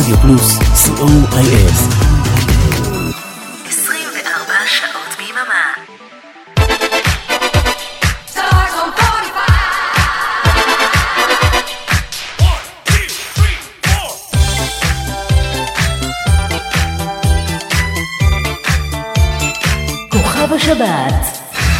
רדיו פלוס, co.il. 24 שעות ביממה. כוכב השבת.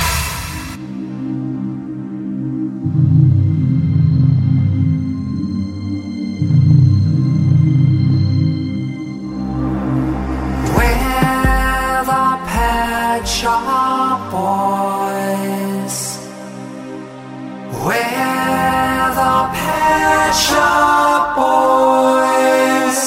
Shop Boys, we're the Pet Shop Boys.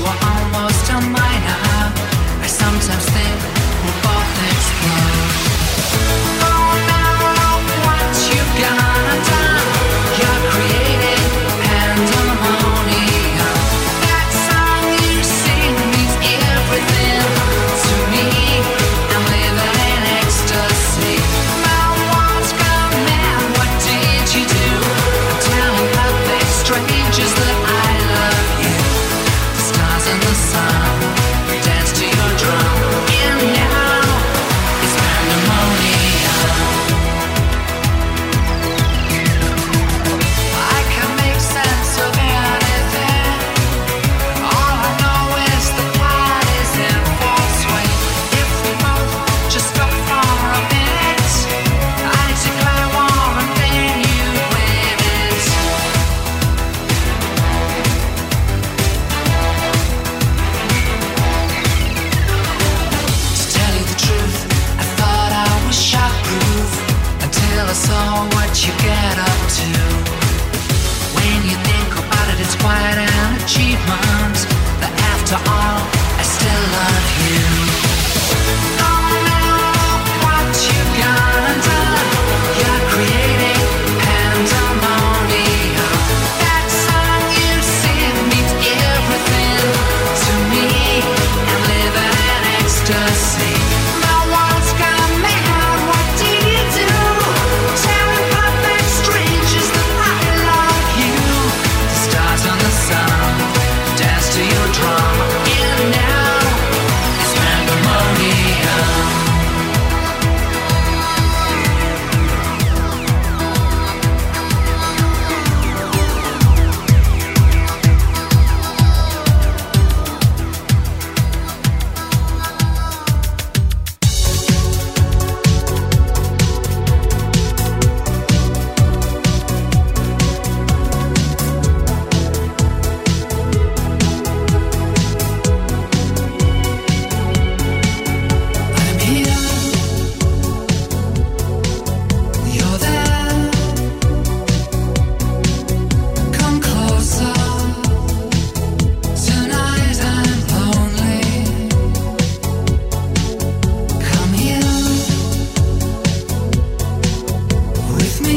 were almost a minor. I sometimes think we'll both explode. Oh no, what you gonna do? You're creating pandemonium. That song you sing means everything to me. I'm living in ecstasy. My world's gone mad. What did you do? I'm telling perfect strangers that I love you. The stars and the sun dance to your drum. And now it's pandemonium. I can make sense of anything. All I know is the party's in full swing. If we both just stop for a minute, I declare war and then you win it. To tell you the truth, I thought I was shockproof until I saw what you get up to. When you think about it, it's quite an achievement. That after all, I still love you. Oh no, what you gonna do? You're creating pandemonium. That song you sing means everything to me. I'm living in ecstasy. My world's gone mad. What did you do? Telling perfect strangers that I love you. The stars and the sun dance to your drum. And now it's pandemonium. I'm here, you're there. Come closer. Tonight I'm lonely. Come here with me.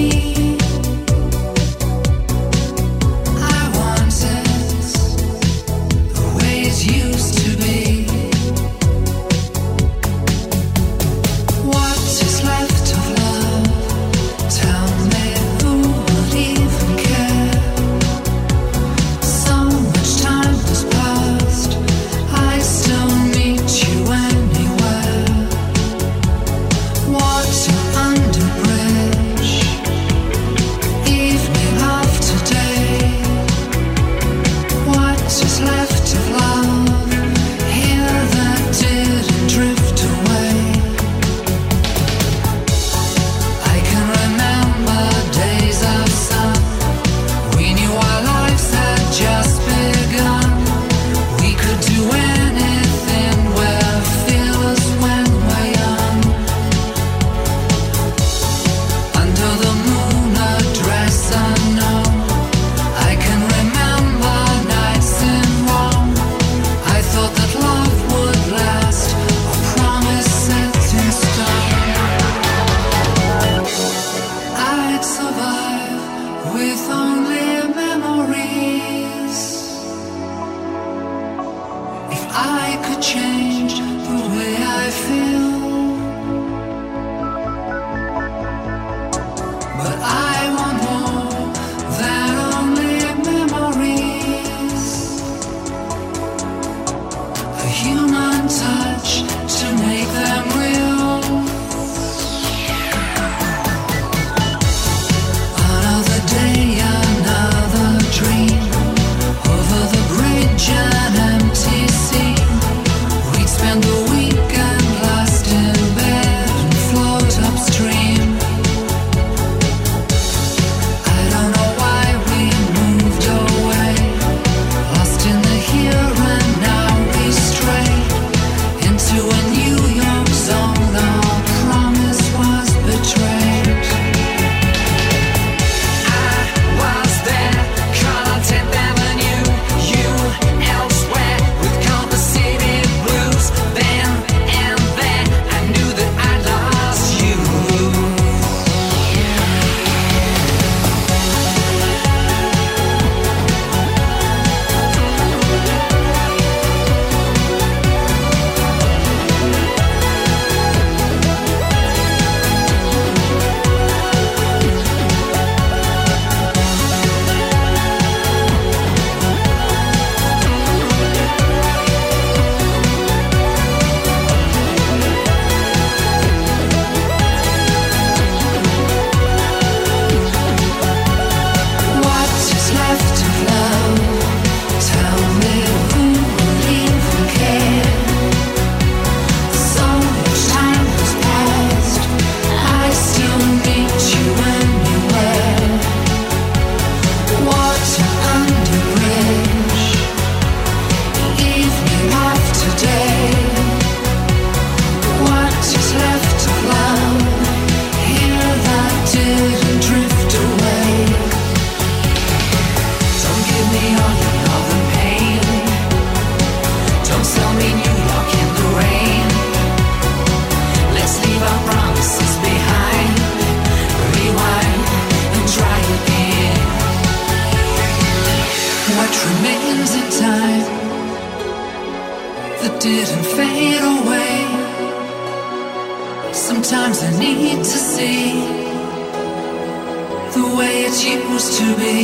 I want it the way it used to be. What is left of love? Tell me who would even care? So much time has passed. I still meet you anywhere. Water under bridge, evening after day. What is left of love here that didn't drift away? I can remember days of sun. We knew our lives had just begun. We could do anything. We're fearless when we're young. Under the moon, a dress unknown. I can remember nights in Rome. I thought that love would last, a promise set in stone. I'd survive with only memories. If I could change the way I feel, but I want more than only memories. A human touch to make them real. Another day, another dream. Over the bridge, an empty scene. We'd spend the weekend like much remains in time that didn't fade away. Sometimes I need to see the way it used to be.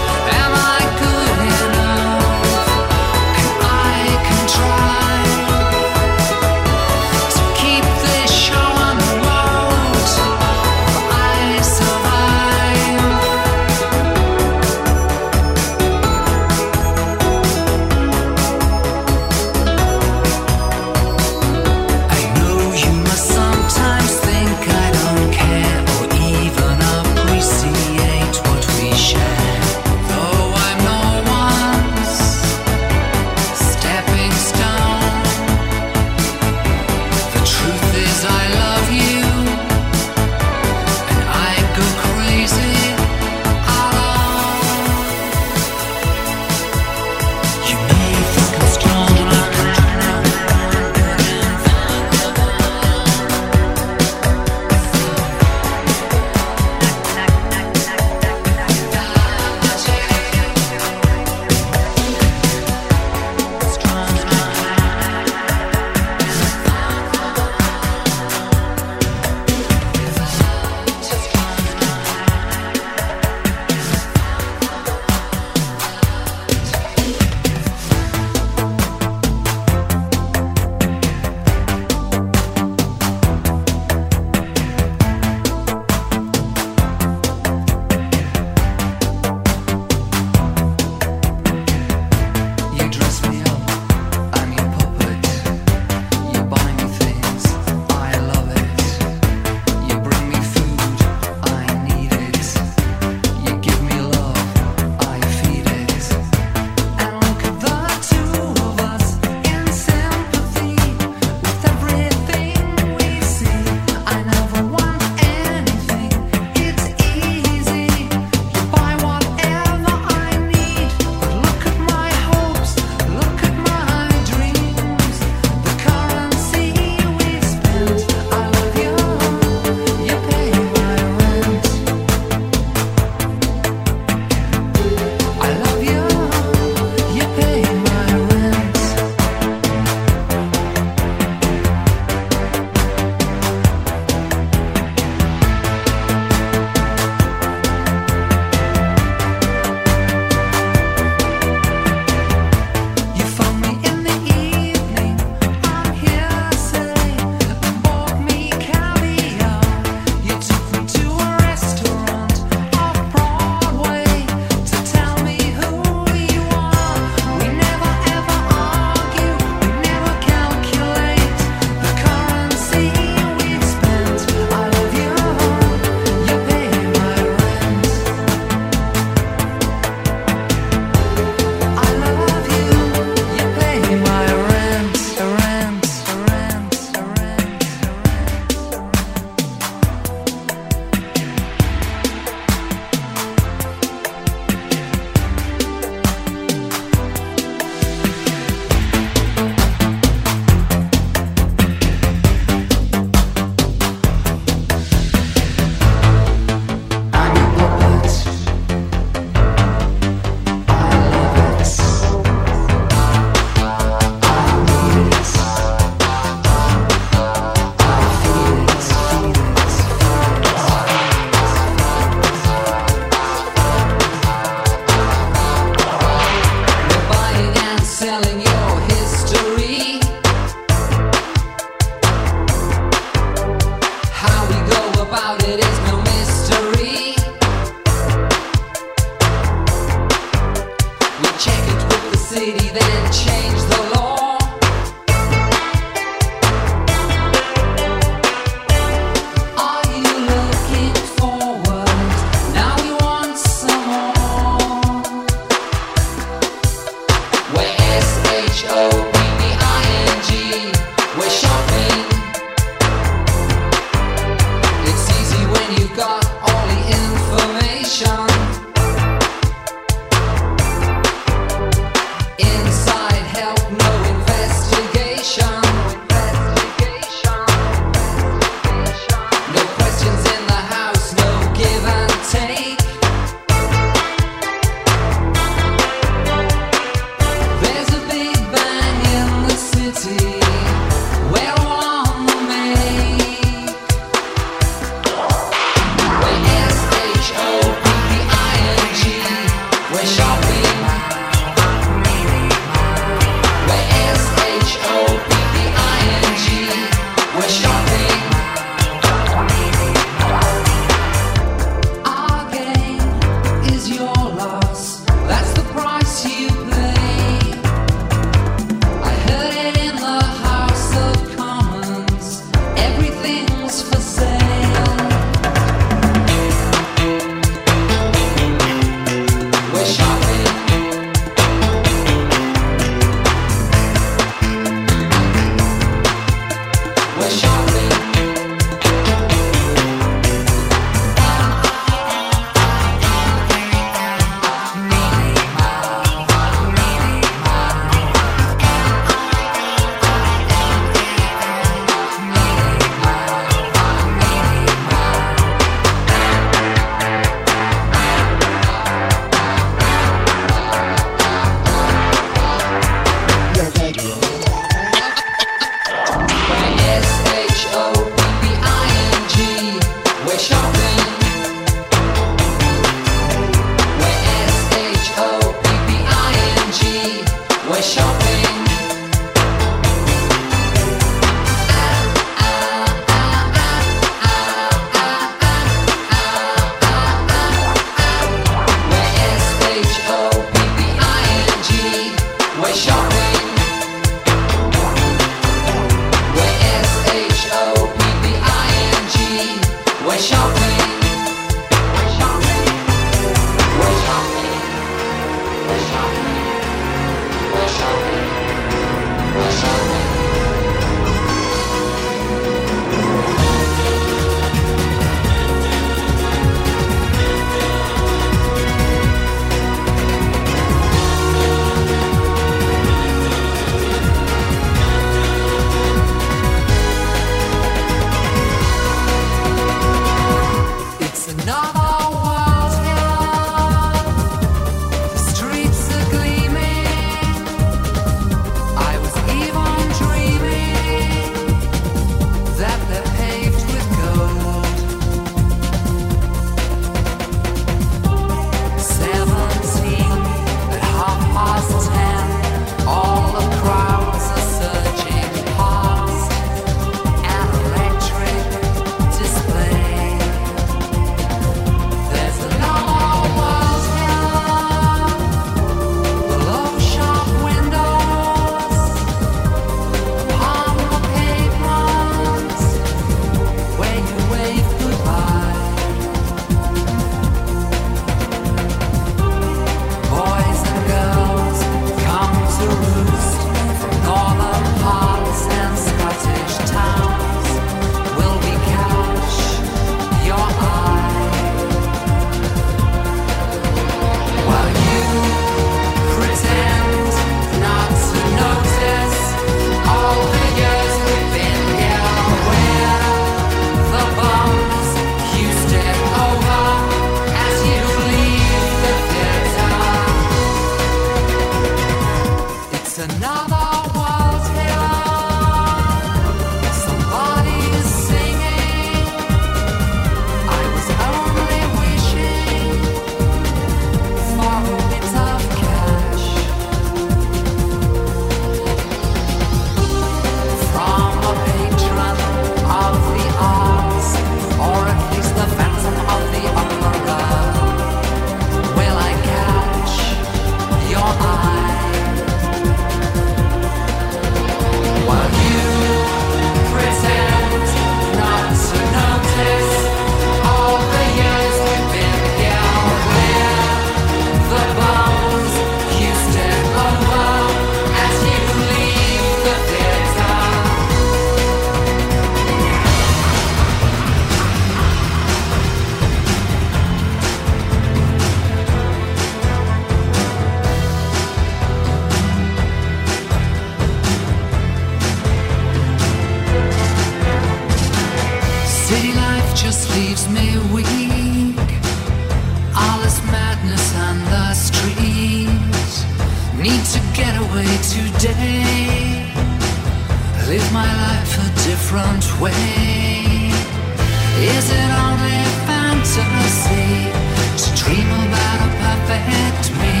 away today. Live my life a different way. Is it only fantasy to dream about a perfect me?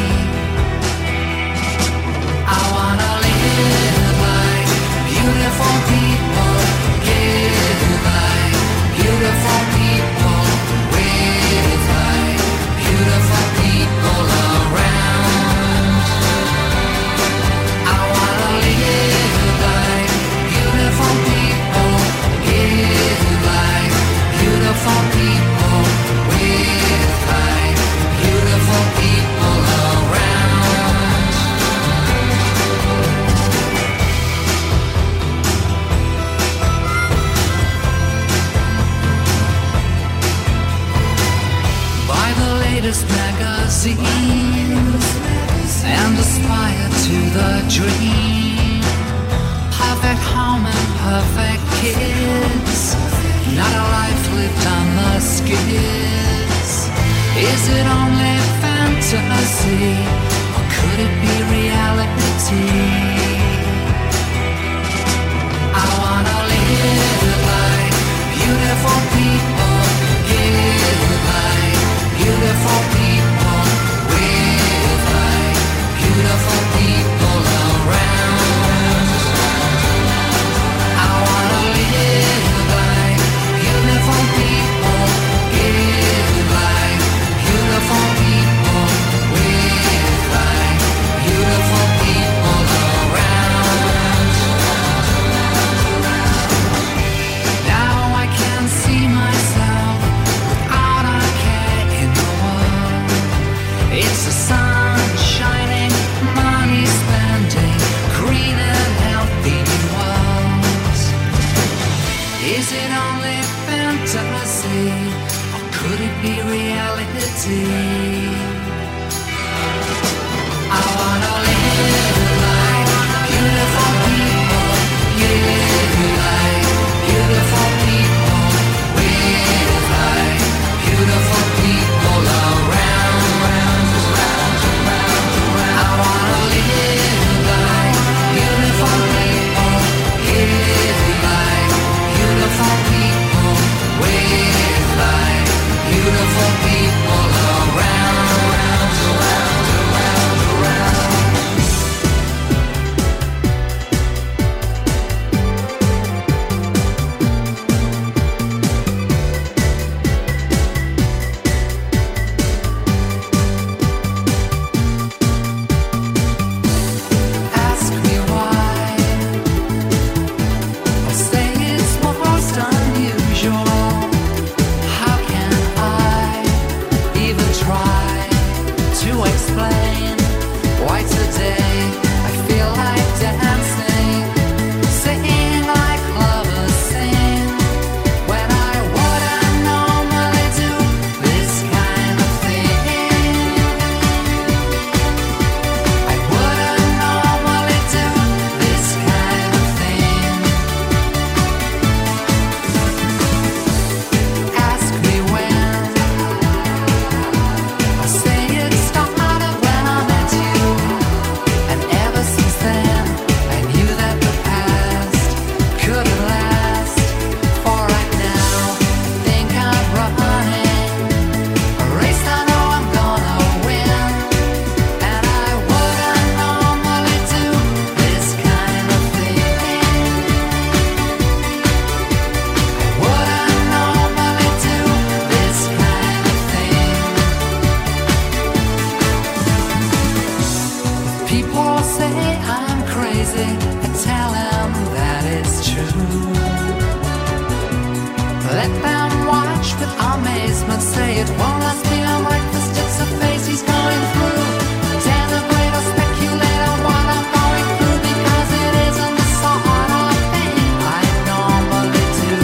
I wanna live like beautiful people, give like beautiful people, with like beautiful people around. I wanna live like beautiful people, give like beautiful people, with like beautiful people around. Buy the latest magazines and aspire to the dream. Perfect home and perfect kids, not a life lived on the skids. Is it only fantasy, or could it be reality? I wanna live like beautiful people, give like beautiful people, with like beautiful people around. I wanna live like beautiful people, give like beautiful people, with like beautiful people around. Now I can see myself without a care in the world. It's the sun shining, money spending, green and healthy worlds. Is it only fantasy, or could it be reality? I wanna live like beautiful people, give like beautiful people, with like beautiful people around. I wanna live like beautiful people, give like beautiful people, with like beautiful people around. Ask me why. I'll say it's most unusual. How can I even try to explain why today I feel like dancing, singing like lovers sing, when I wouldn't normally do this kind of thing. I wouldn't normally do this kind of thing. Ask me when. I'll say it started when I met you, and ever since then I knew that the past couldn't last. For right now, I think I'm running a race I know I'm gonna win, and I wouldn't normally do this kind of thing. I wouldn't normally do this kind of thing. People say I'm crazy, I tell them that it's true. Let them watch with amazement, say it won't last beyond breakfast, it's a phase he's going through. Denigrate or speculate on what I'm going through, because it isn't the sort of thing I normally do.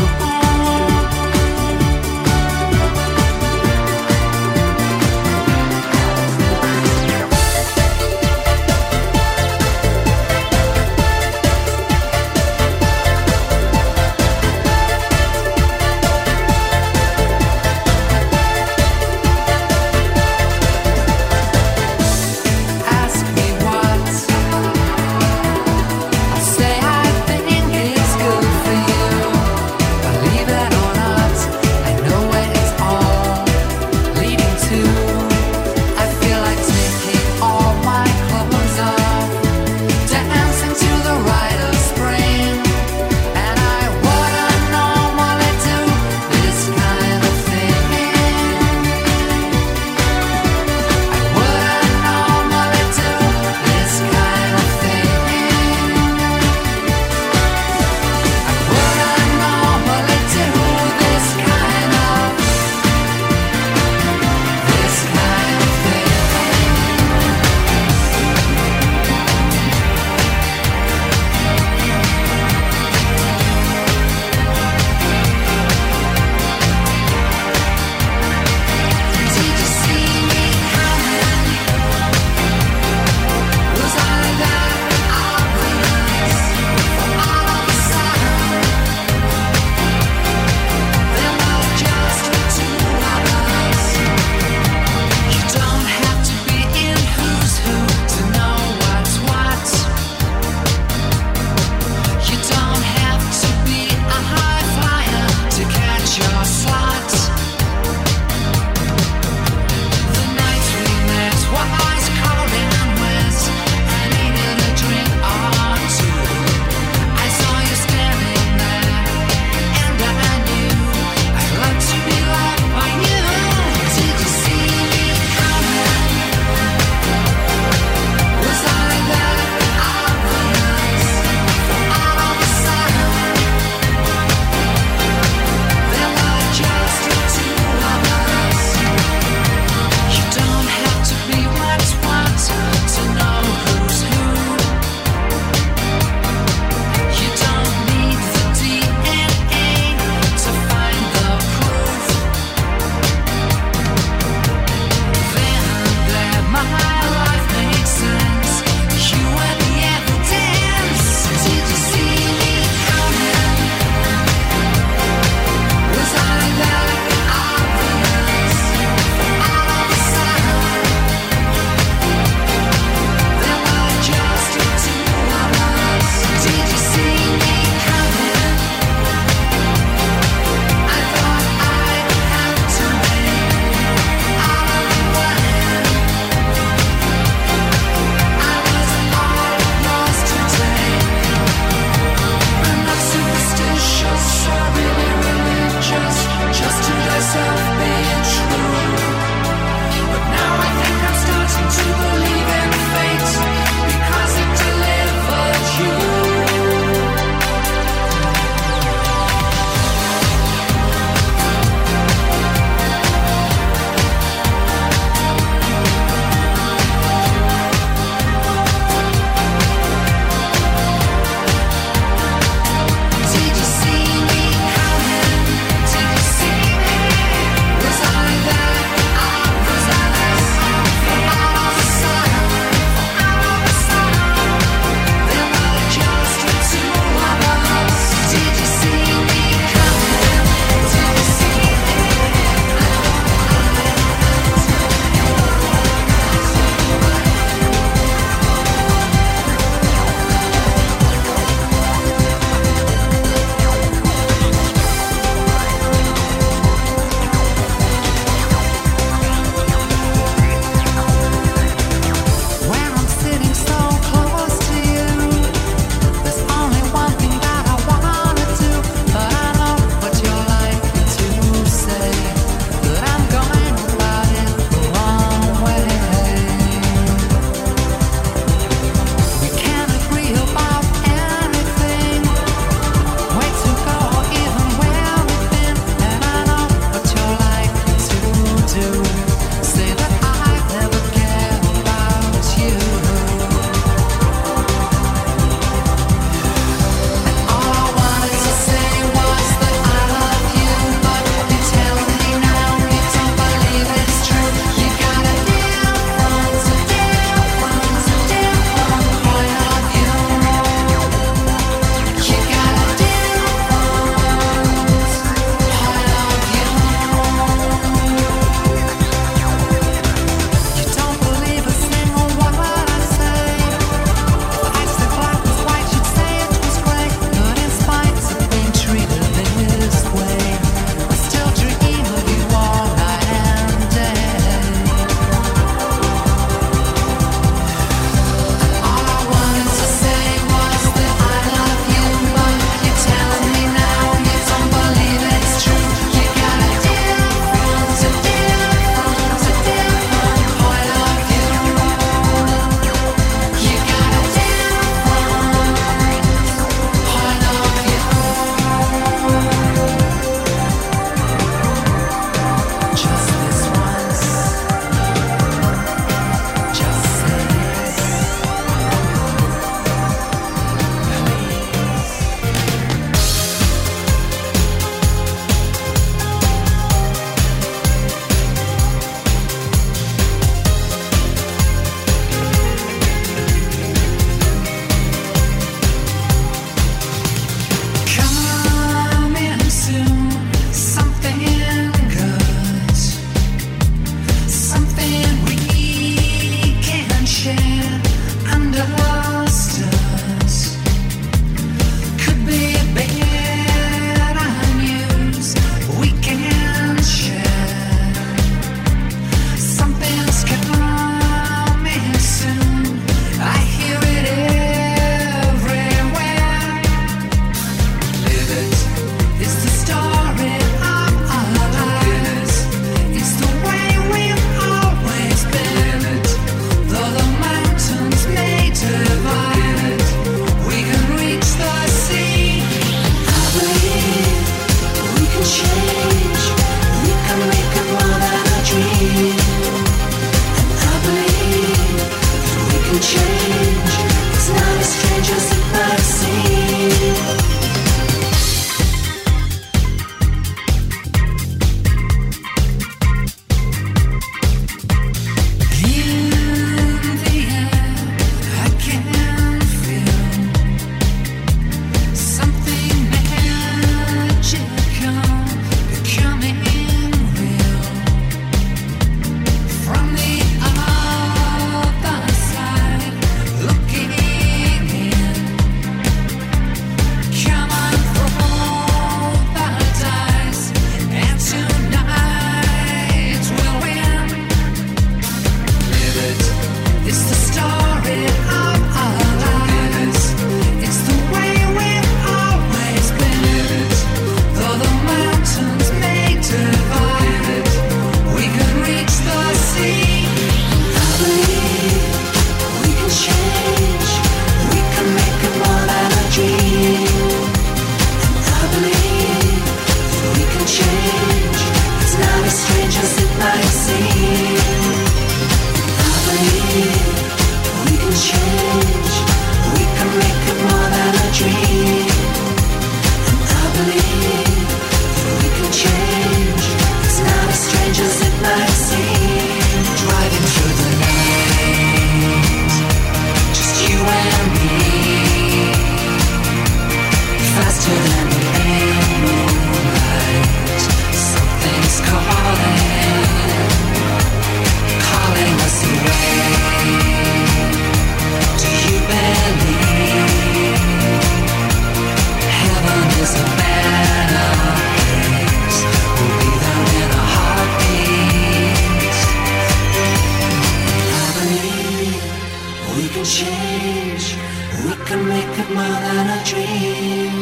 dream.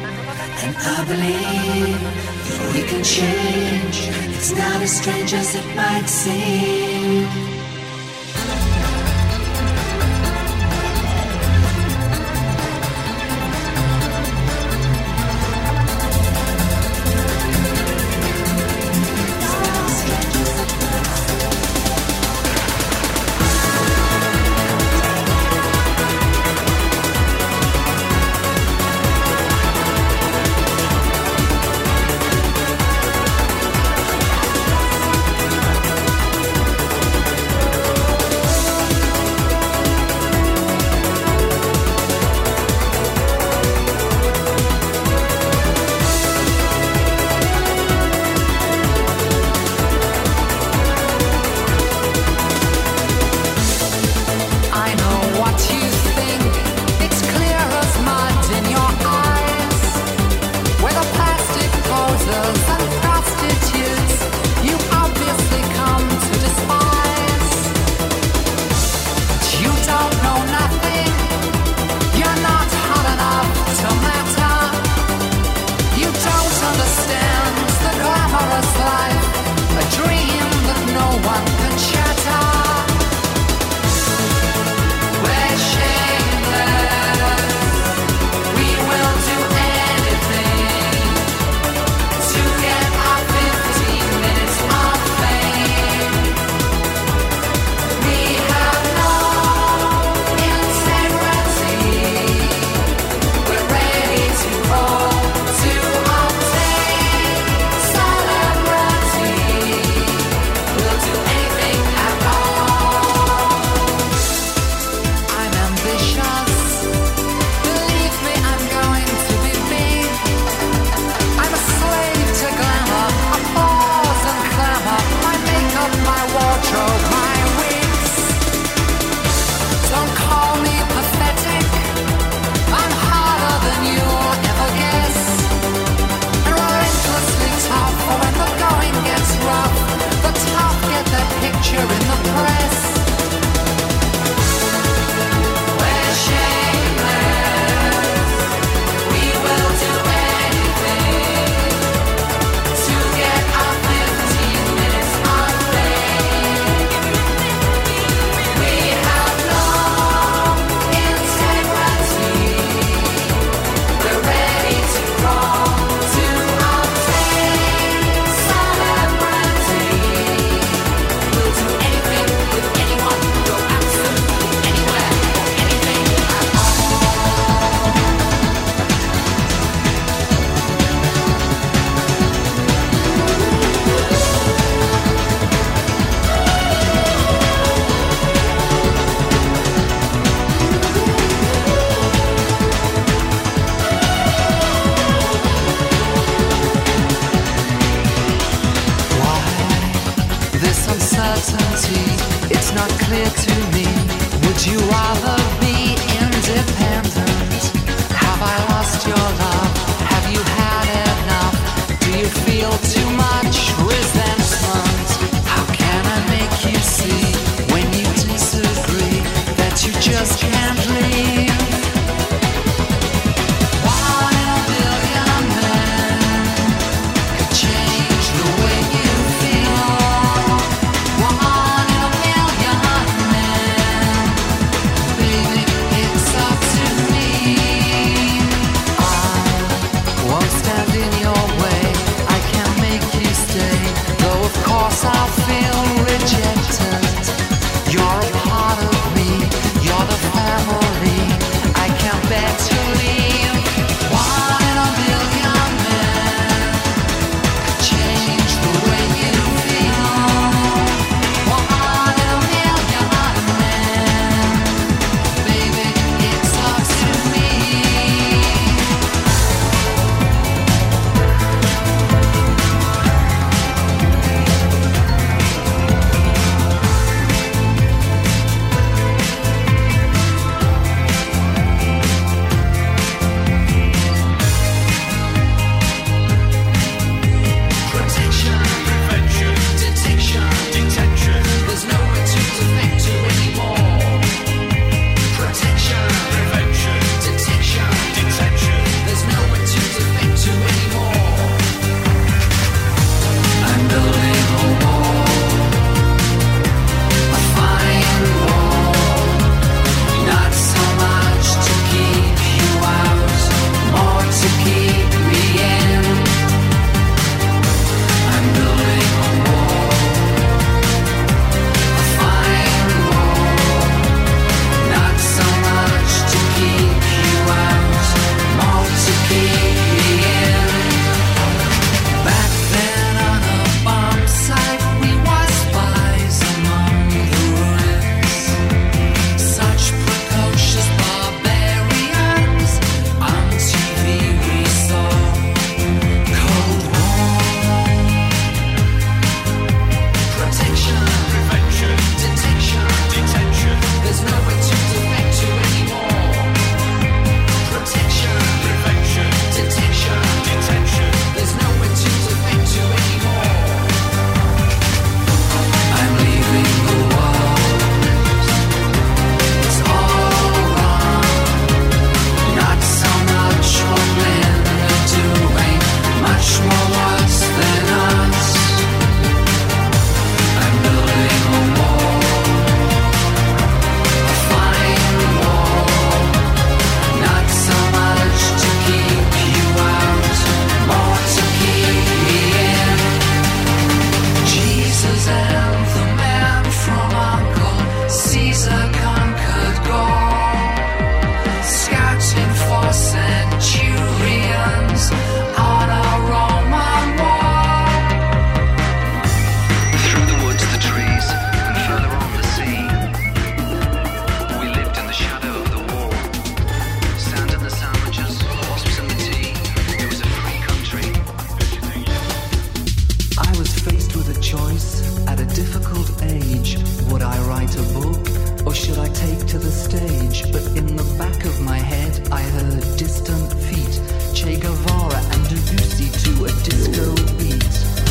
And I believe that we can change. It's not as strange as it might seem. It's up to write a book, or should I take to the stage? But in the back of my head I heard distant feet, Che Guevara and Debussy to a disco beat.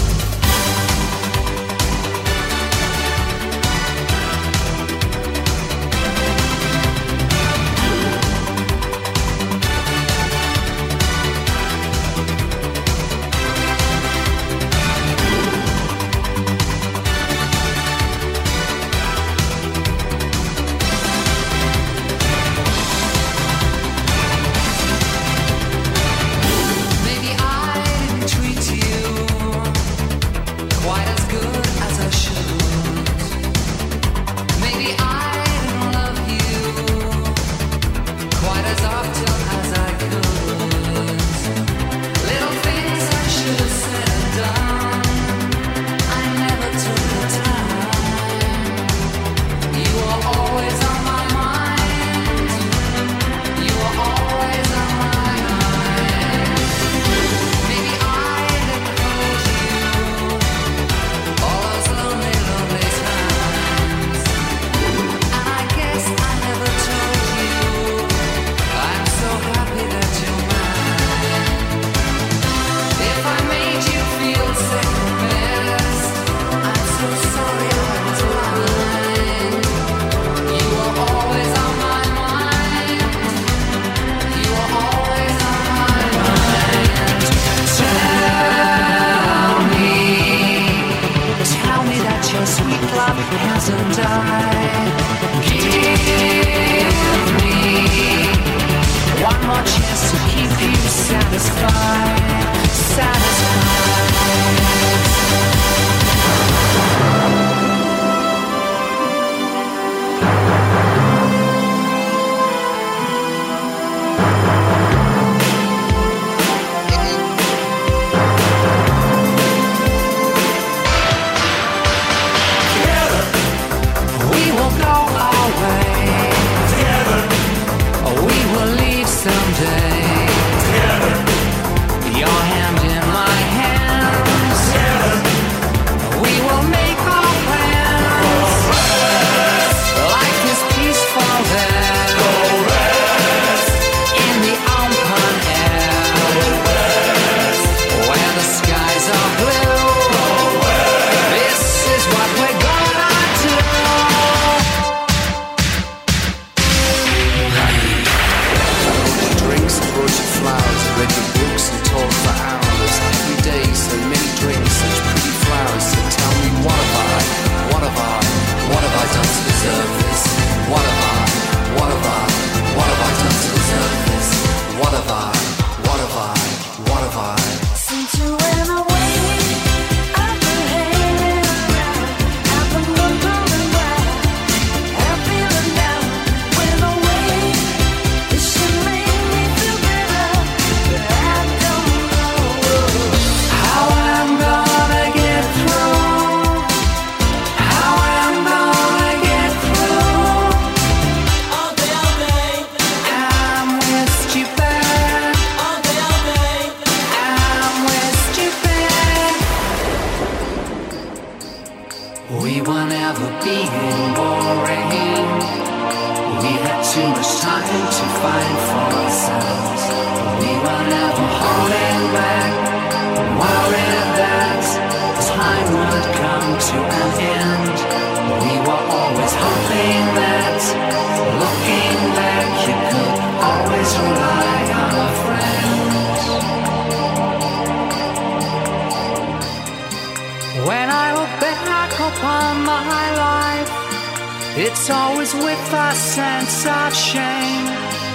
It's always with a sense of shame.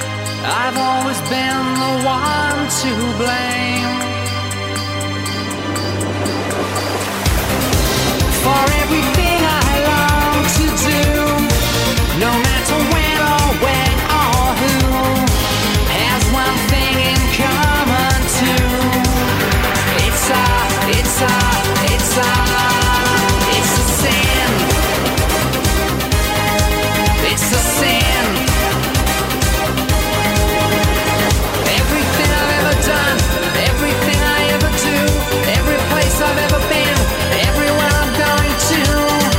I've always been the one to blame for everything I long to do, no matter when or when or who has one thing in common too. It's a sin. It's a sin. Everything I've ever done, everything I ever do, every place I've ever been, everywhere I'm going to.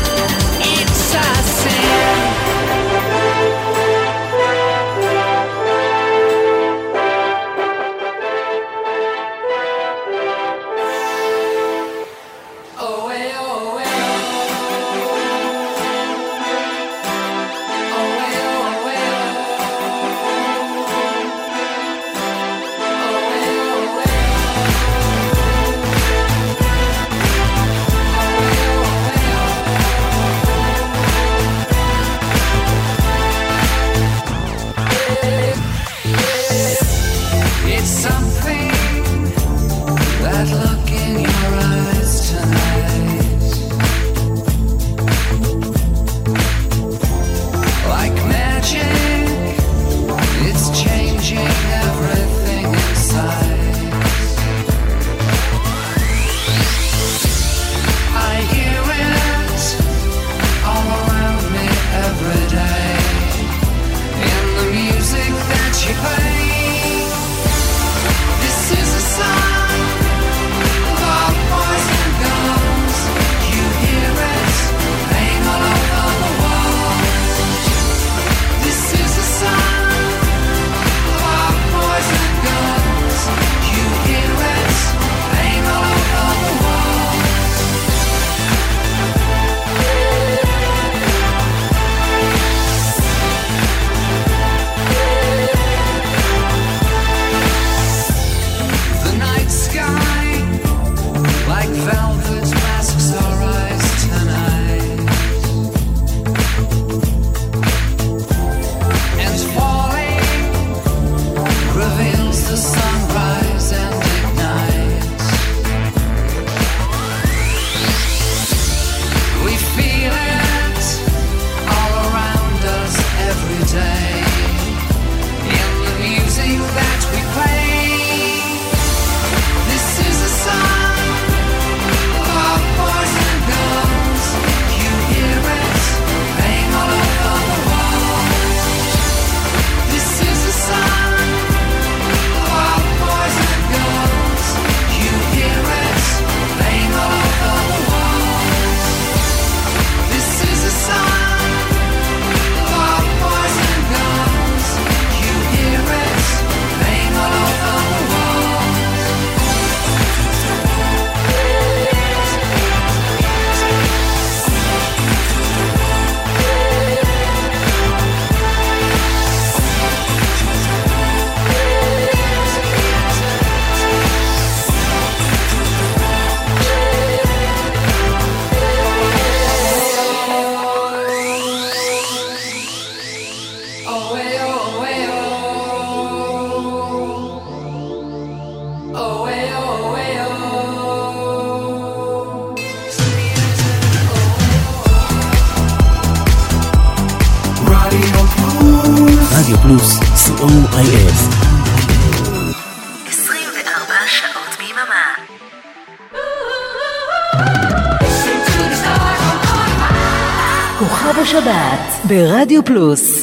רדיו פלוס, co.il. 24 שעות ביממה. כוכב השבת ברדיו פלוס.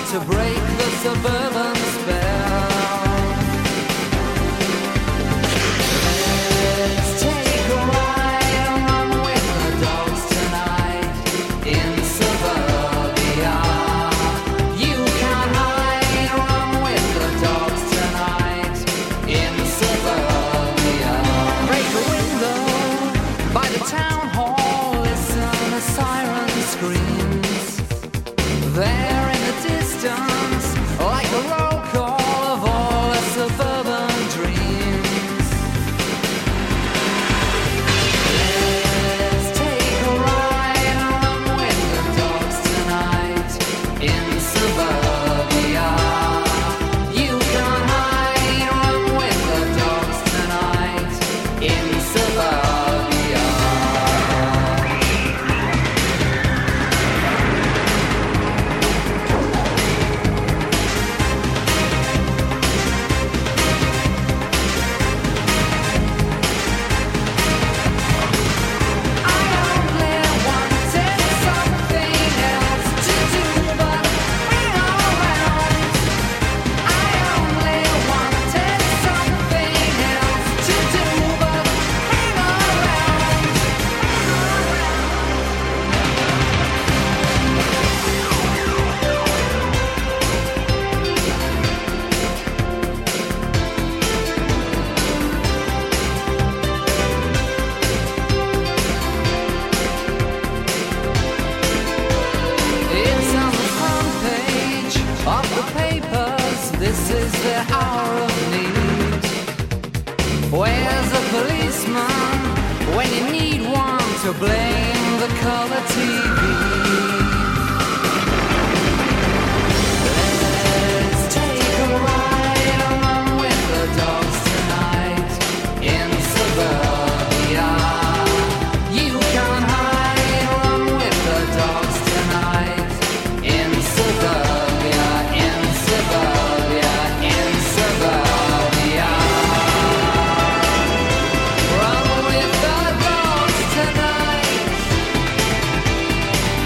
to break the suburban spell. Let's take a ride and run with the dogs tonight in suburbia. You can hide, run with the dogs tonight in suburbia. Break a window by the town hall, listen a siren screams. There in the distance, like a roll call of all the suburban dreams. Let's take a ride and run with the dogs tonight in suburbia. You can hide, run with the dogs tonight in suburbia. It's on the front page of the papers. This is the hour of need. Where's the policeman when you need one to blame the color TV? Let's take a ride and run with the dogs tonight in suburbia. You can hide, run with the dogs tonight in suburbia, in suburbia, in suburbia. Run with the dogs tonight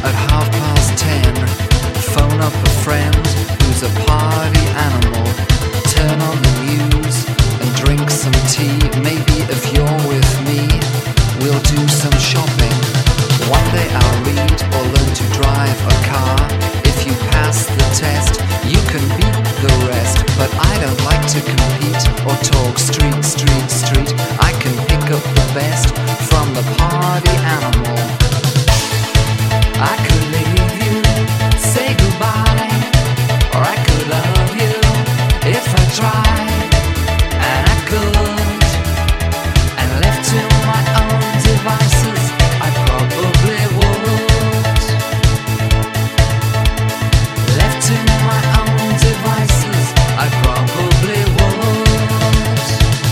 at 10:30. Phone up a friend who's a party animal. Turn on the news and drink some tea. Maybe if you're with me, we'll do some shopping. One day I'll read or learn to drive a car. If you pass the test, you can beat the rest. But I don't like to compete or talk street, street, street. I can pick up the best from the party animal. I could leave you, say goodbye, or I could love you if I tried, and I could. And left to my own devices, I probably would. Left to my own devices, I probably would.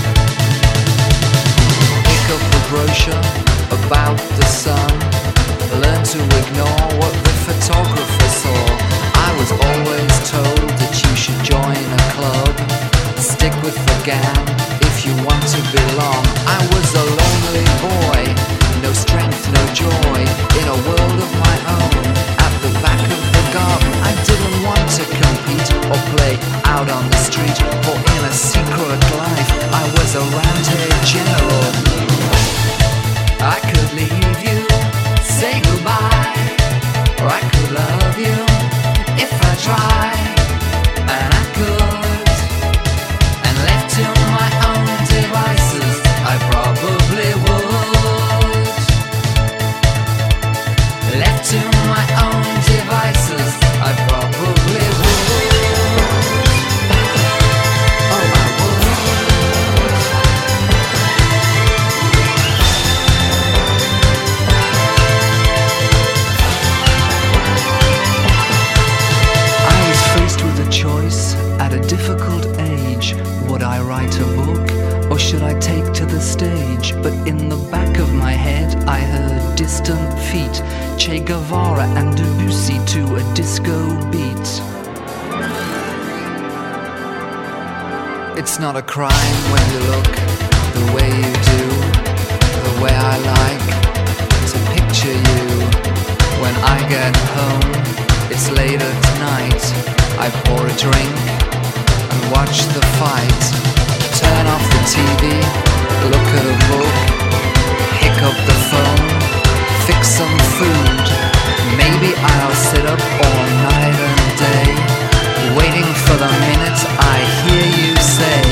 Pick up a brochure about the sun. Learn to ignore what the photographer saw. I was always told that you should join a club. Stick with the gang if you want to belong. I was a lonely boy, no strength, no joy, in a world of my own, at the back of the garden. I didn't want to compete or play out on the street, or in a secret life. I was a roundhead general. I could leave you, say goodbye, or I could love you if I tried, and I could. And left to my own devices, I probably would. Left to my own devices, I probably would. Oh, I would. Faced with a choice at a difficult age. Would I write a book or should I take to the stage? But in the back of my head I heard distant feet, Che Guevara and Debussy to a disco beat. It's not a crime when you look the way you do, the way I like to picture you. When I get home, it's late at night. I pour a drink and watch the fight. Turn off the TV, look at a book, pick up the phone, fix some food. Maybe I'll sit up all night and day, waiting for the minute I hear you say,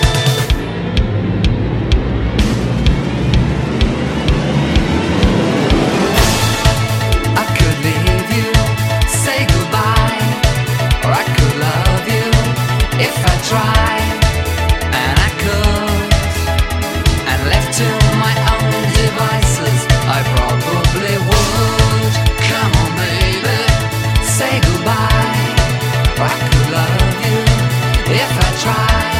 I could leave you, say goodbye, or I could love you if I tried, and I could. And left to my own devices, I probably would. Come on baby, say goodbye, or I could love you if I tried.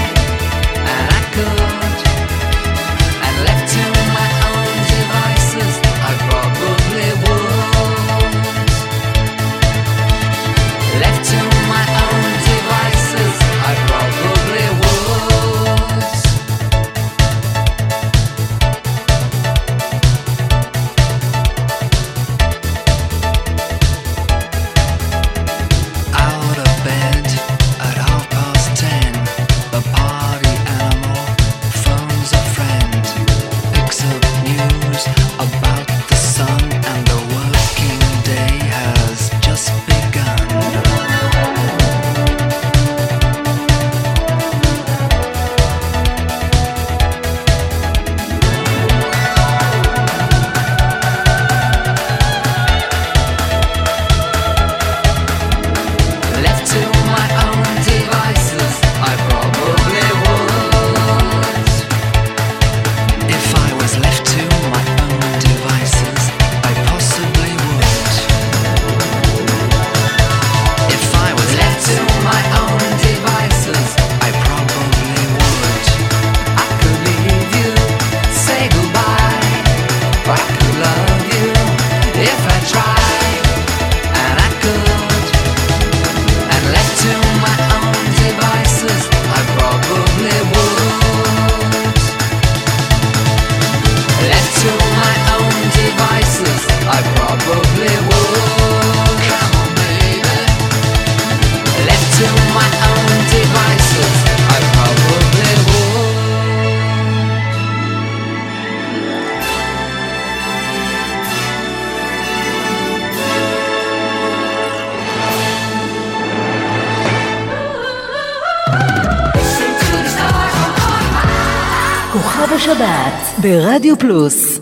שבת ברדיו פלוס.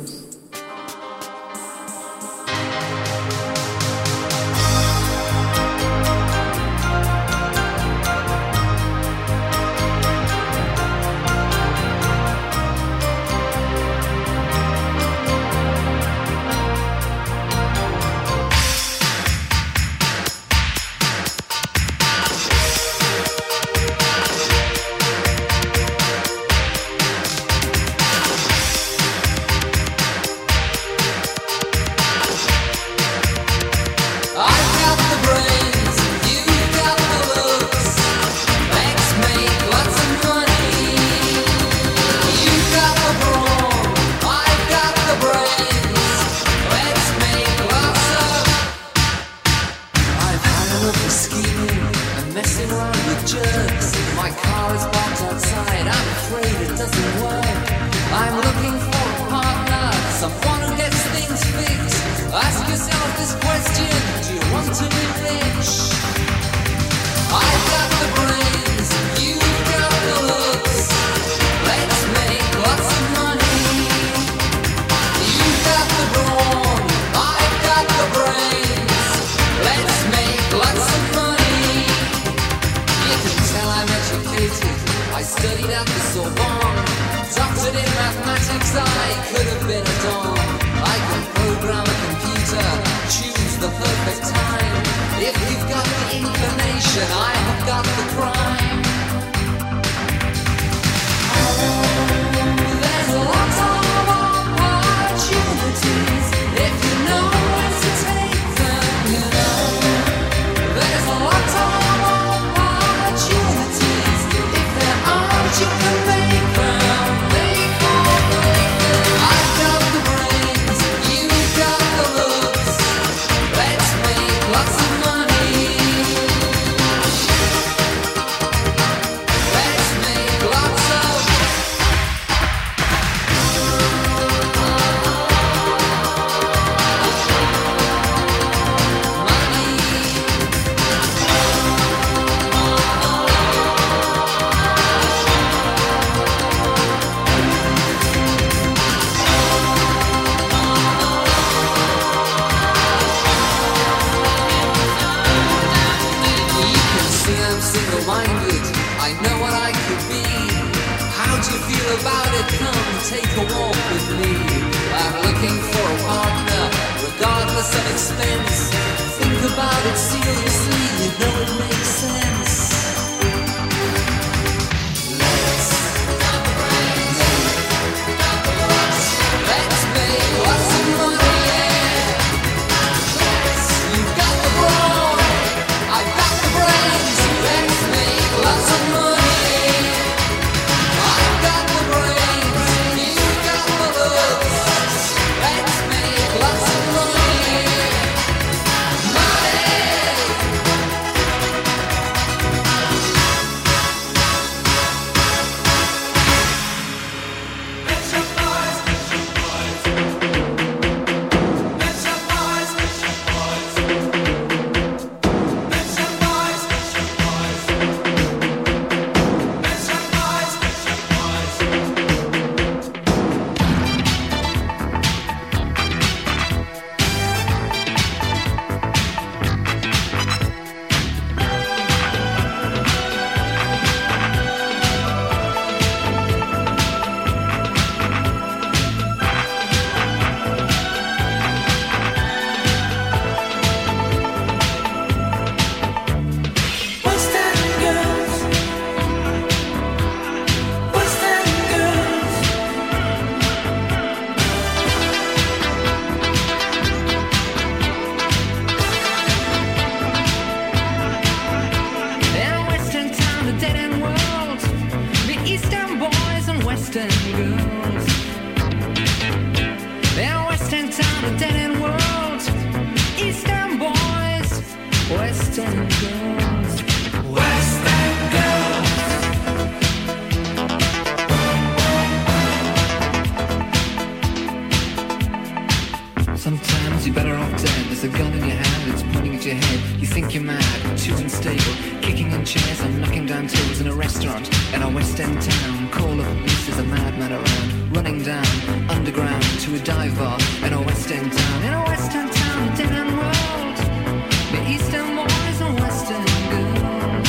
in your hand, it's pointing at your head. You think you're mad, too unstable, kicking in chairs and knocking down tables in a restaurant in a West End town. Call up police, there's a madman around, running down underground to a dive bar in a West End town. In a West End town, a dead end world, the East End boys and West End girls.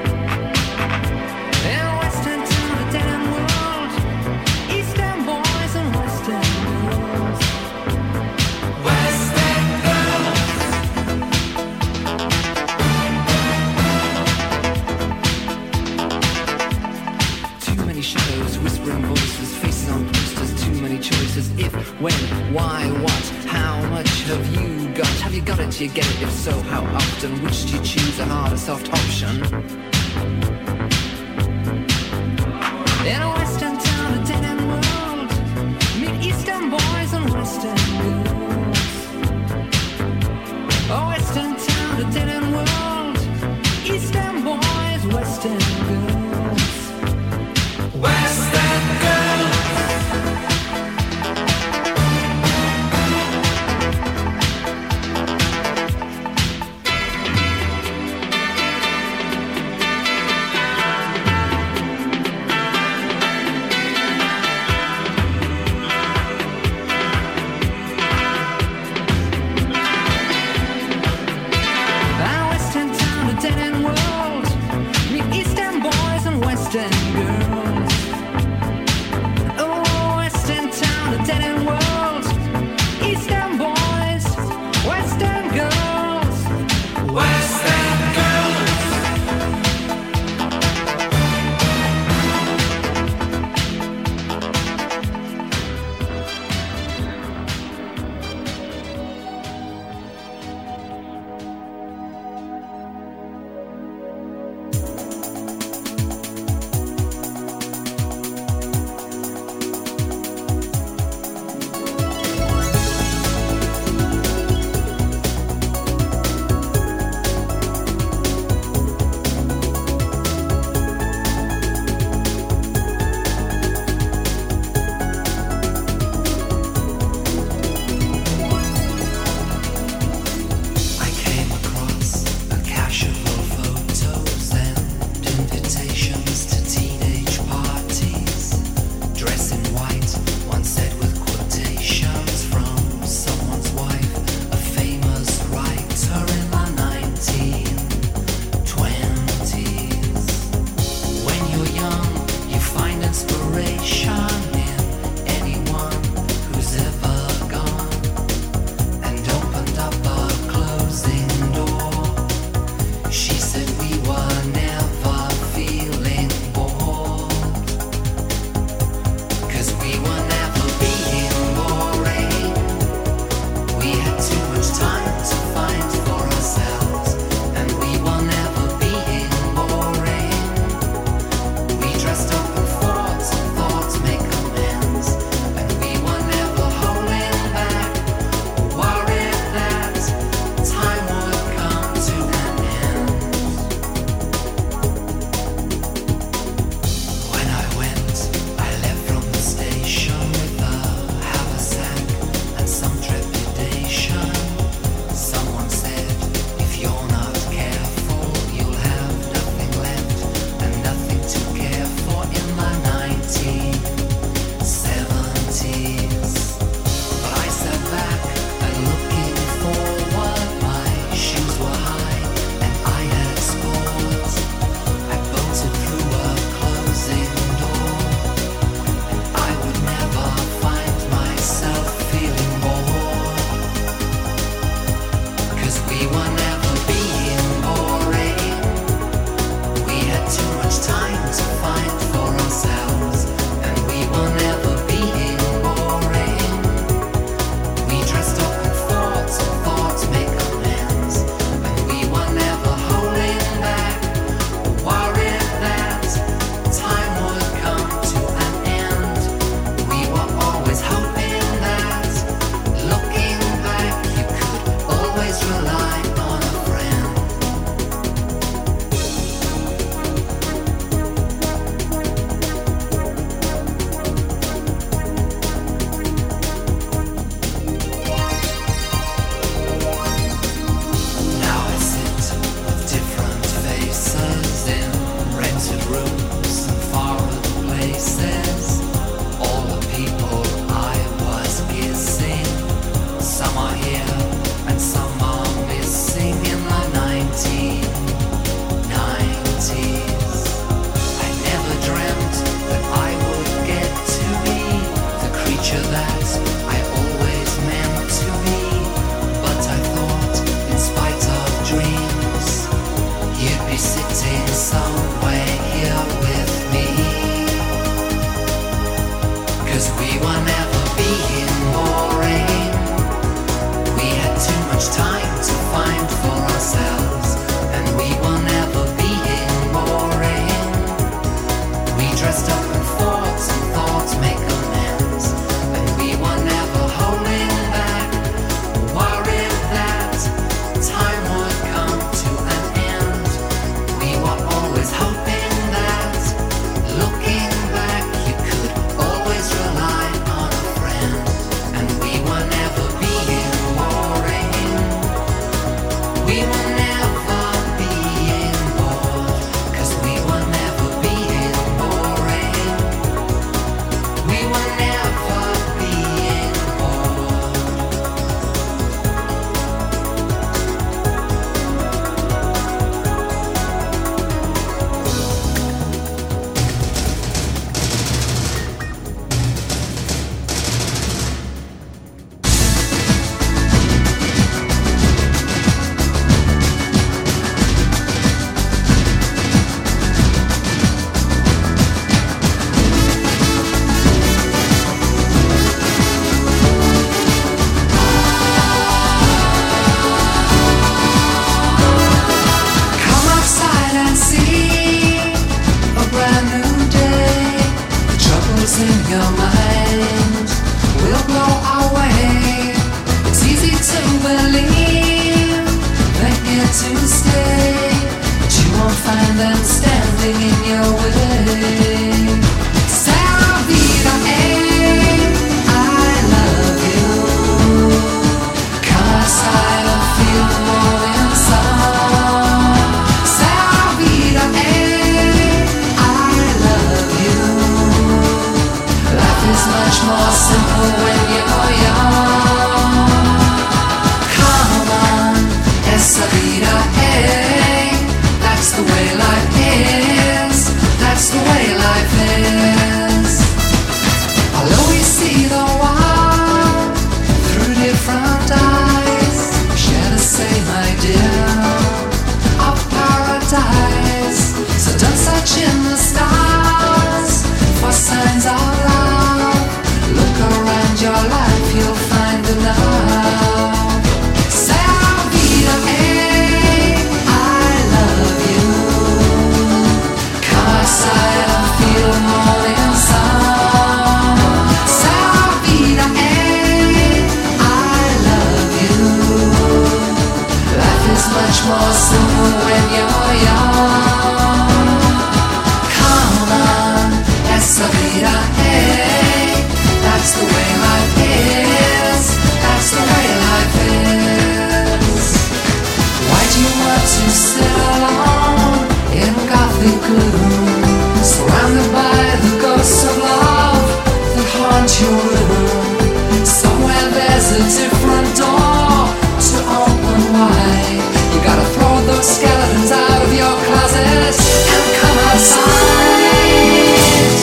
In a West End town, a dead end world, East End boys and West End girls. West End girls. Too many shadows, whispering voices, faces on posters, too many choices. If, when, why, what, how much have you got? Have you got it? Do you get it? If so, how often? Which do you choose, a hard or soft option? In a West End town, a dead end world, meet East End boys and West End girls. A West End town, a dead end world, East End boys, West End girls. West End girls. Rely on your mind will blow away. It's easy to believe they're here to stay, but you won't find them standing in your way. Sarah Vida, I love you, 'cause I don't feel more inside. Sarah Vida, I love you. Life is much more simple when you're young. Come on, esa vida, that's the way life is. That's the way life is. I'll always see the world through different eyes. Share the same idea of paradise. So don't search in the stars for signs of love. Look around your life, you'll find enough. Sarah Vida, I love you, 'cause I don't feel more inside. Sarah Vida, I love you. Life is much more simple when you're young. Come on, esa vida, that's the way life is. That's the way life is. Why do you want to sit alone in gothic gloom, surrounded by the ghosts of love that haunt your room? Somewhere there's a different door to open wide. You gotta throw those skeletons out of your closet and come outside.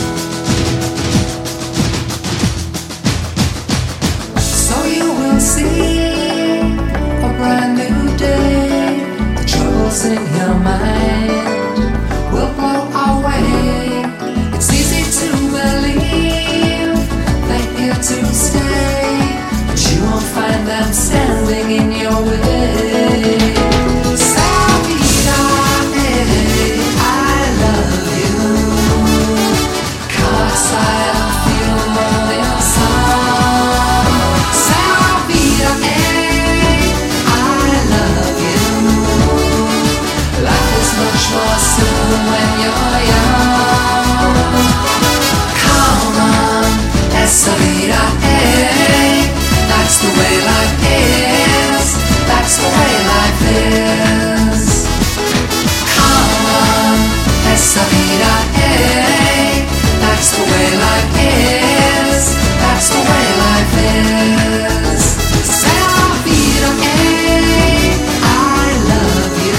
So you will see a brand new day. The troubles in your mind will blow away. It's easy to believe they're here to stay, but you won't find them standing in your way. Sarah Vida, I love you, 'cause I don't feel more inside. Sarah Vida, I love you. Life is much more simple when you're young. Come on, esa vida, that's the way life is. That's the way life is. Come on, esa vida, that's the way life is. That's the way life is. Sarah Vida, I love you,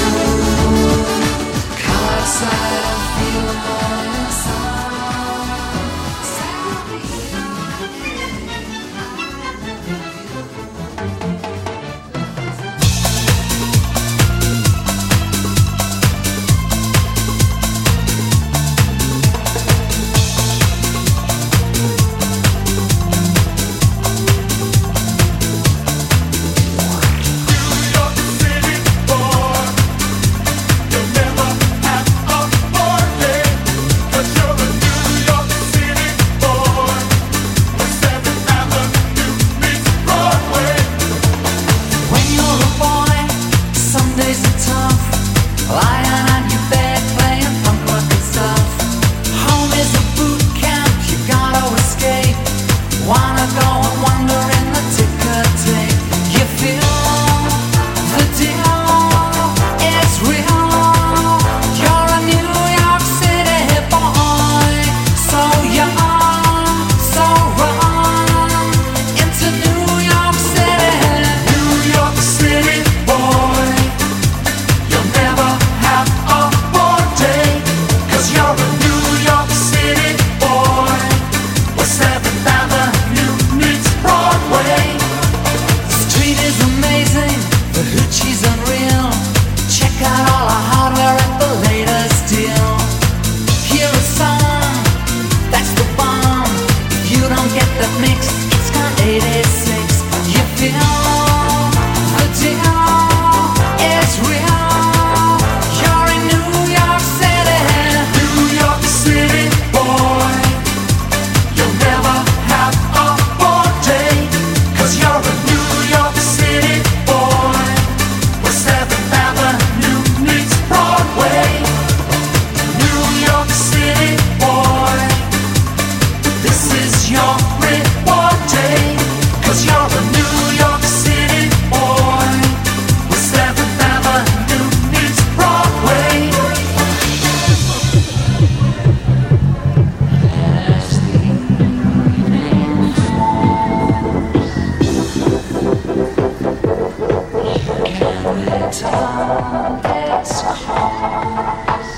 'cause I don't feel more inside. Sarah Vida, turn its course.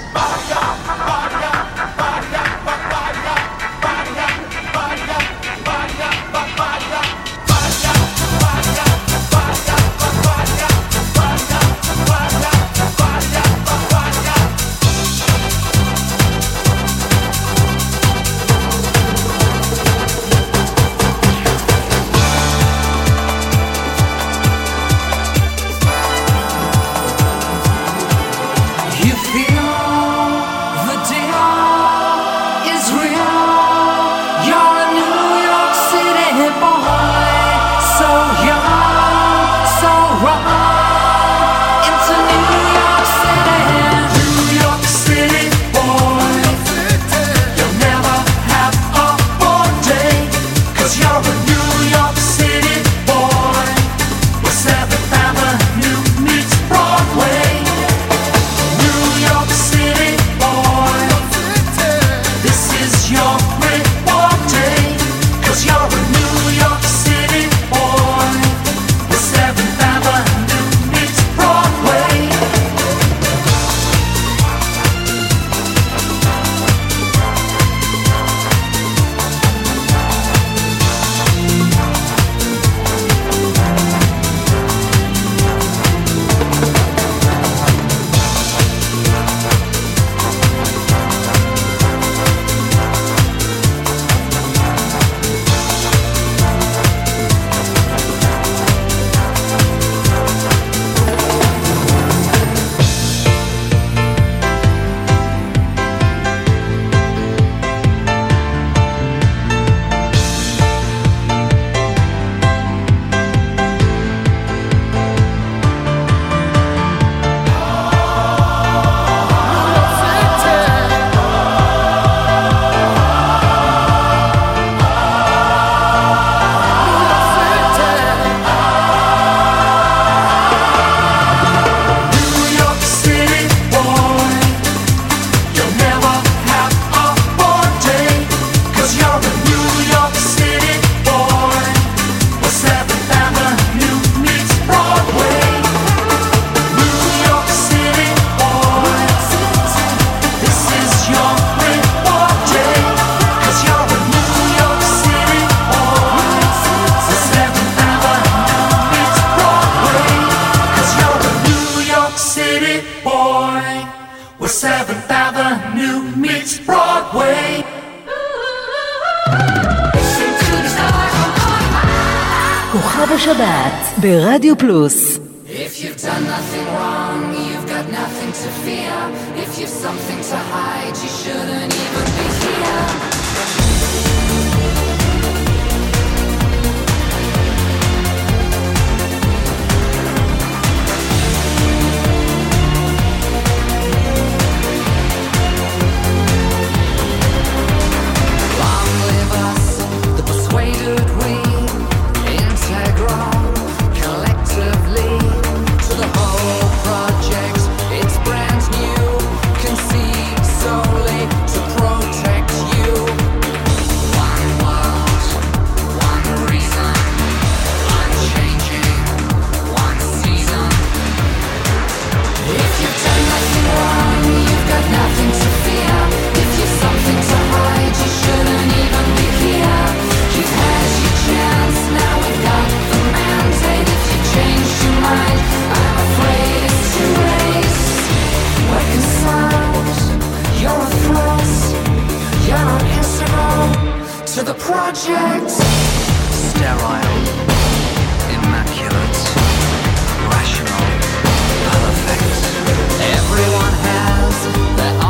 כוכב השבת ברדיו פלוס. If you've done nothing wrong, you've got nothing to fear. If you've something to hide, you shouldn't even be here. Long live us, the persuaded we, integral, collectively, to the whole project. It's brand new, conceived solely to protect you. One world, one reason, unchanging, one season. If you've done nothing wrong, you've got nothing to fear. If you've something to hide, you shouldn't even be here. You've had your chance, now we've got the mandate. If you changed your mind, I'm afraid it's too late. We're concerned, you're a threat, you're not integral to the project. Sterile, immaculate, rational, perfect. Everyone has their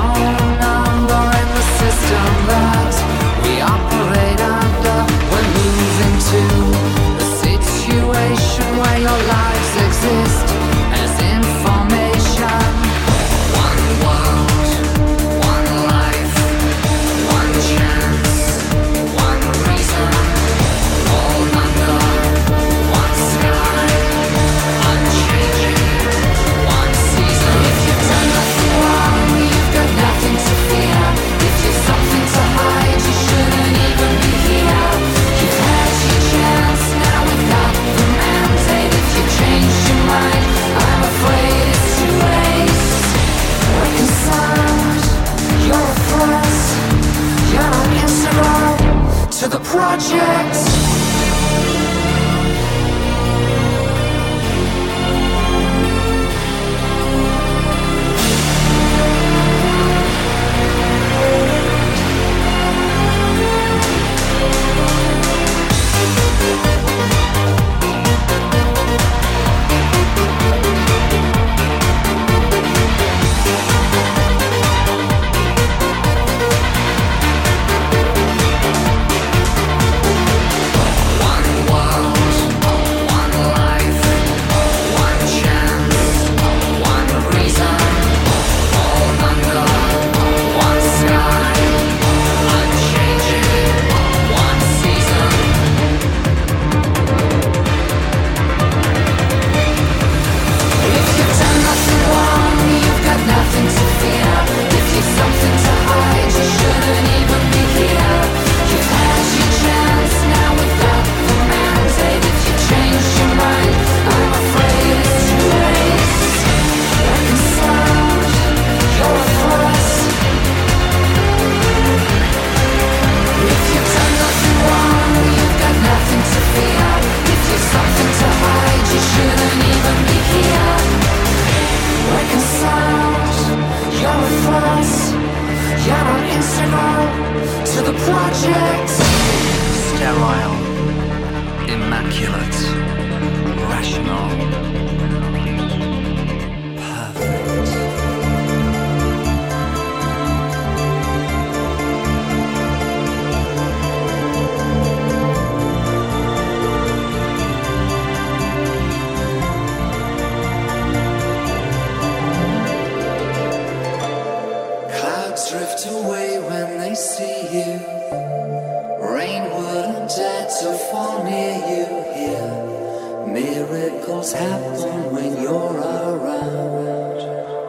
happen when you're around.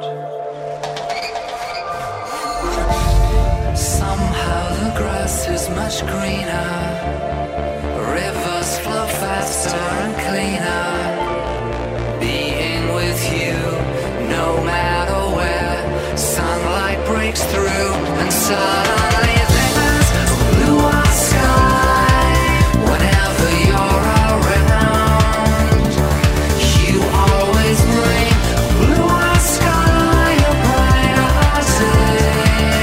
Somehow the grass is much greener, rivers flow faster and cleaner. Being with you, no matter where, sunlight breaks through and suddenly there's a bluer sky. Whenever you're around, you always bring a bluer sky, a brighter day.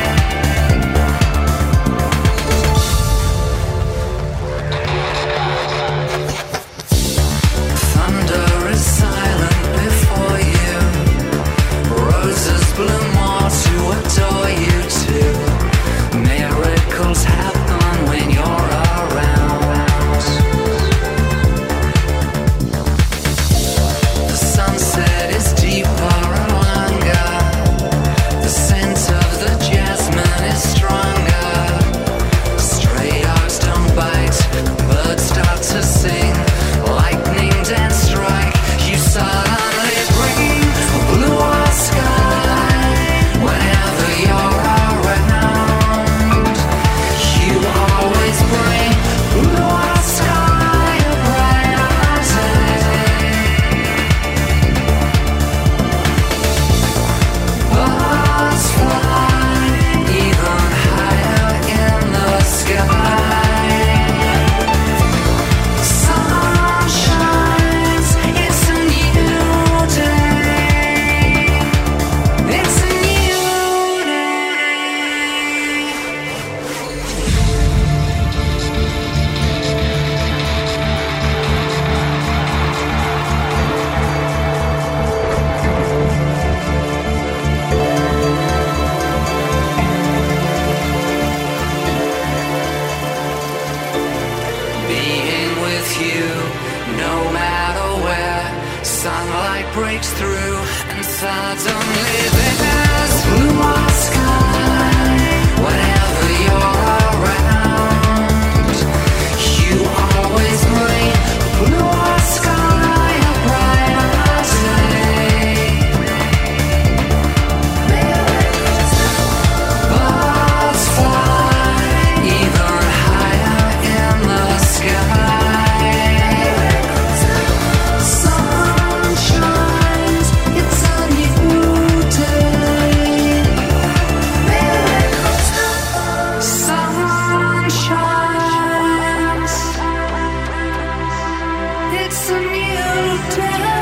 Thunder is silent before you, roses bloom more to adore you too. Miracles happen when you're around. The sunset is deeper and longer, the scent of the jasmine is stronger. Stray dogs don't bite, birds start to sing, lightning dance strike, you suddenly bring a bluer sky. Whenever you're around, you always bring a bluer sky, a brighter day. Birds fly even higher in the sky. Sun shines, it's a new day. It's a new day. Being with you, no matter where, sunlight breaks through and suddenly there's bluer sky. Whenever you're around, you always bring a bluer sky, a brighter day. Birds fly even higher in the sky. Sun shines, it's a new day. Sun shines, it's a new day.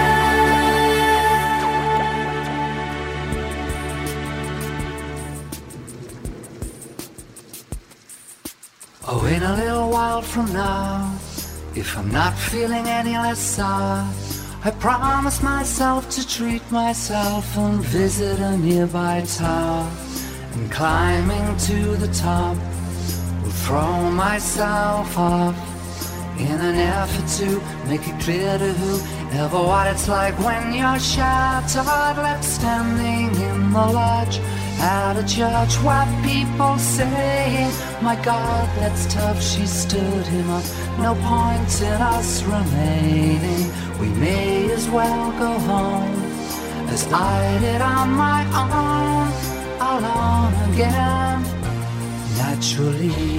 Oh, in a little while from now, if I'm not feeling any less sour, I promise myself to treat myself and visit a nearby tower. And climbing to the top, will throw myself off in an effort to make it clear to whoever what it's like when you're shattered, left standing in the lodge at a church where people say, my God, that's tough, she stood him up, no point in us remaining, we may as well go home, as I did on my own, alone again, naturally.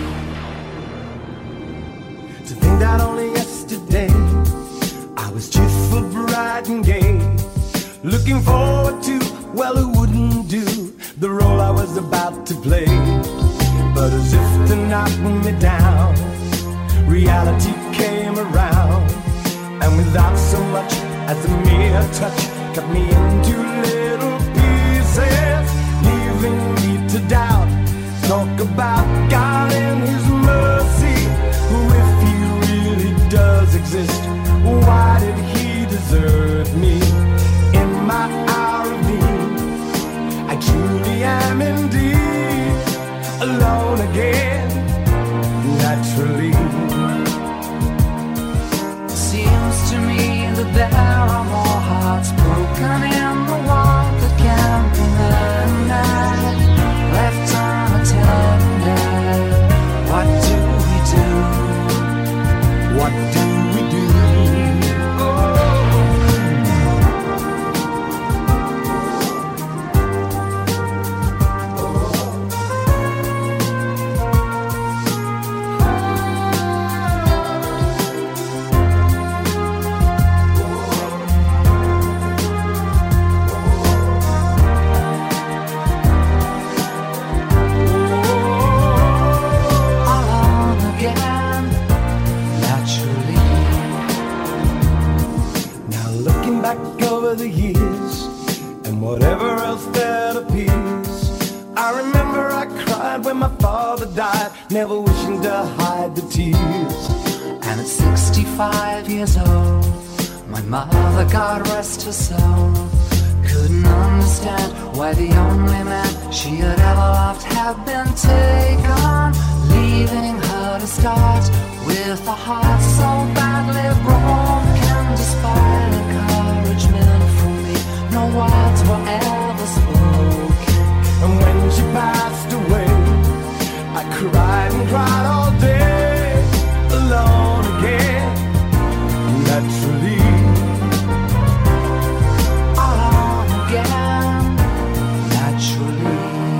To think that only yesterday I was cheerful, bright and gay, looking forward to, well, who wouldn't do the role I was about to play. But as if to knock me down, reality came around, and without so much as a mere touch, cut me into little pieces, leaving me to doubt. Talk about God and His mercy, who, if He really does exist, why did He desert me in my hour of need? I truly am indeed alone again, naturally. Seems to me that there are more hearts broken in the world that can't be mended, left unattended. What do we do? What do we do? Oh. over the years, and whatever else that appears. I remember I cried when my father died, never wishing to hide the tears. And at 65 years old, my mother, God rest her soul, couldn't understand why the only man she had ever loved had been taken, leaving her to start with a heart so badly broken. Despite encouragement from me, no words were ever spoken. And when she passed away, I cried and cried all day, alone again, naturally. Alone again, naturally.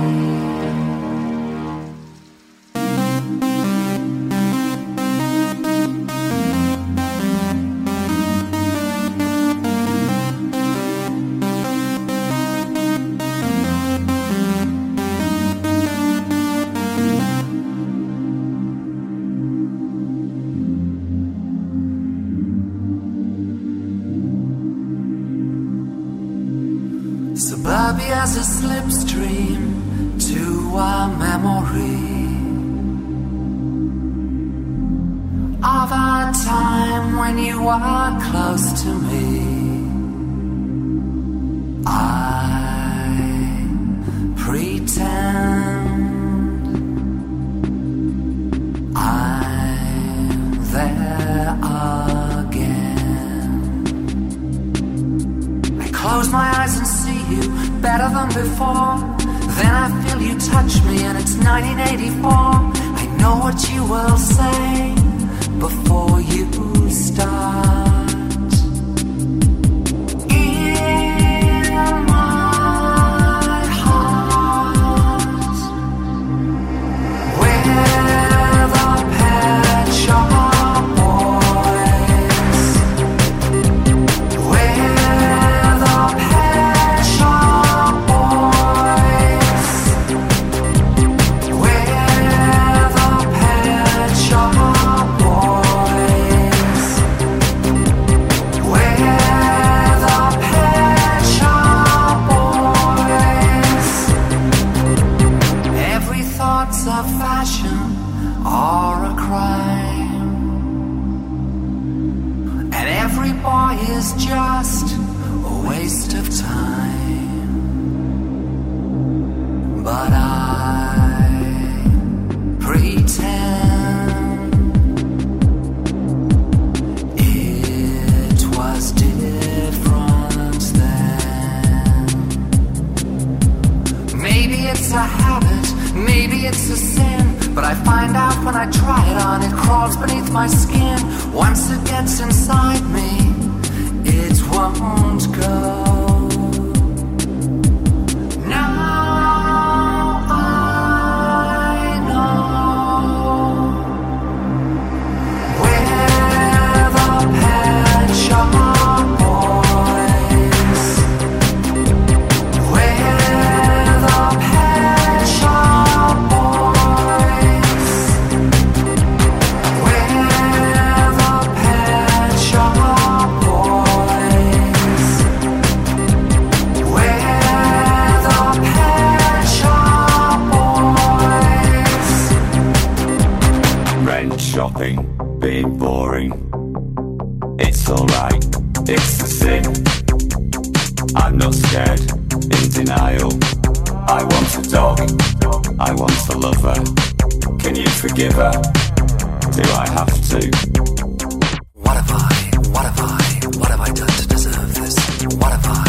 Suburbia's a slipstream to a memory of a time when you were close to me. I pretend I'm there again. I close my eyes and see you better than before. Then I feel you touch me and it's 1984. I know what you will say before you start. In my heart, where the pet shop boys, where the pet shop boys, where the pet shop boys, where the pet shop boys. Every thought's a fashion or a crime, and every boy is just a waste of time. But I pretend it was different then. Maybe it's a habit, maybe it's a sin, but I find out when I try it on, it crawls beneath my skin. Once it gets inside me, it won't go. Now I know where the pet shop boys, where the pet shop boys, where the pet shop boys, where the pet shop boys. Rent shopping, being boring. It's alright, it's the sin. I'm not scared, in denial. I want a dog, I want a lover. Can you forgive her? Do I have to? What have I done to deserve this? What have I